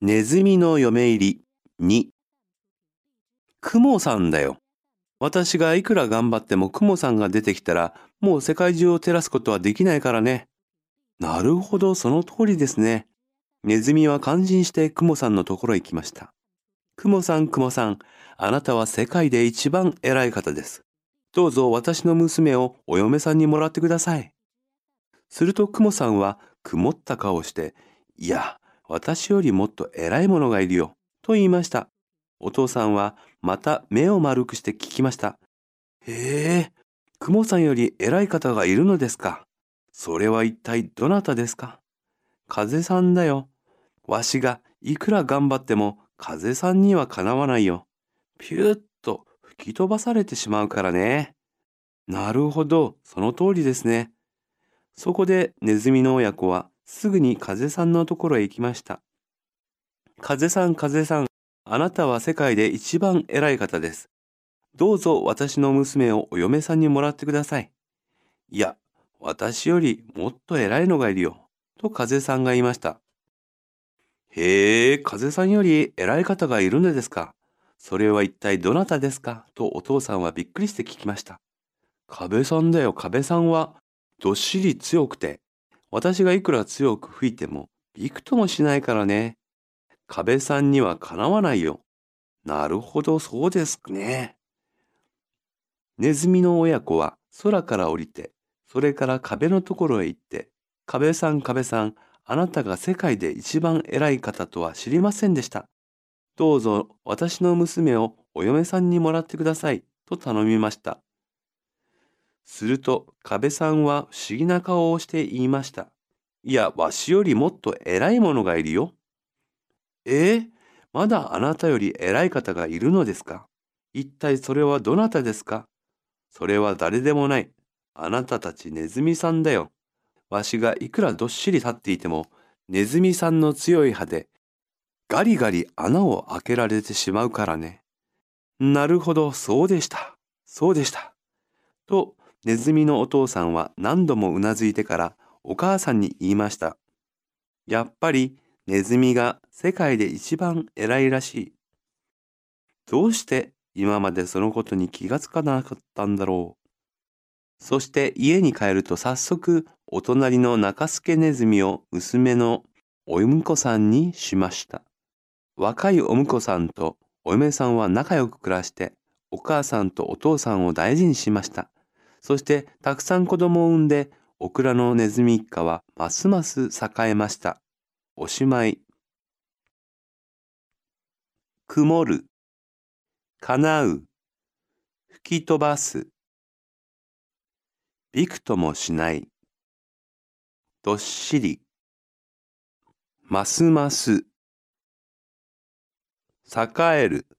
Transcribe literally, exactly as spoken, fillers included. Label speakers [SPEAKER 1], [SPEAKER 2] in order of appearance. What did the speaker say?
[SPEAKER 1] ネズミの嫁入りに。クモさんだよ。私がいくら頑張ってもクモさんが出てきたら、もう世界中を照らすことはできないからね。なるほど、その通りですね。ネズミは感心してクモさんのところへ行きました。クモさん、クモさん、あなたは世界で一番偉い方です。どうぞ私の娘をお嫁さんにもらってください。するとクモさんは曇った顔をして、いや、私よりもっと偉い者がいるよ、と言いました。お父さんはまた目を丸くして聞きました。へえ、クモさんより偉い方がいるのですか。それは一体どなたですか。風さんだよ。わしがいくら頑張っても風さんにはかなわないよ。ピューッと吹き飛ばされてしまうからね。なるほど、その通りですね。そこでネズミの親子はすぐに風さんのところへ行きました。風さん、風さん、あなたは世界で一番偉い方です。どうぞ私の娘をお嫁さんにもらってください。いや、私よりもっと偉いのがいるよ、と風さんが言いました。へえ、風さんより偉い方がいるのですか。それは一体どなたですか、とお父さんはびっくりして聞きました。壁さんだよ、壁さんはどっしり強くて、私がいくら強く吹いてもびくともしないからね。壁さんにはかなわないよ。なるほど、そうですね。ネズミの親子は空から降りて、それから壁のところへ行って、壁さん、壁さん、あなたが世界で一番偉い方とは知りませんでした。どうぞ私の娘をお嫁さんにもらってください、と頼みました。すると壁さんは不思議な顔をして言いました。いや、わしよりもっと偉い者がいるよ。ええ、まだあなたより偉い方がいるのですか。一体それはどなたですか。それは誰でもない。あなたたちネズミさんだよ。わしがいくらどっしり立っていても、ネズミさんの強い歯でガリガリ穴を開けられてしまうからね。なるほど、そうでした。そうでした。と、ネズミのお父さんは何度もうなずいてからお母さんに言いました。やっぱりネズミが世界で一番偉いらしい。どうして今までそのことに気がつかなかったんだろう。そして家に帰ると早速お隣の中助ネズミを娘のお婿さんにしました。若いお婿さんとお嫁さんは仲良く暮らして、お母さんとお父さんを大事にしました。そしてたくさん子供を産んで、オクラのネズミ一家はますます栄えました。おしまい。曇る、叶う、吹き飛ばす、びくともしない、どっしり、ますます、栄える。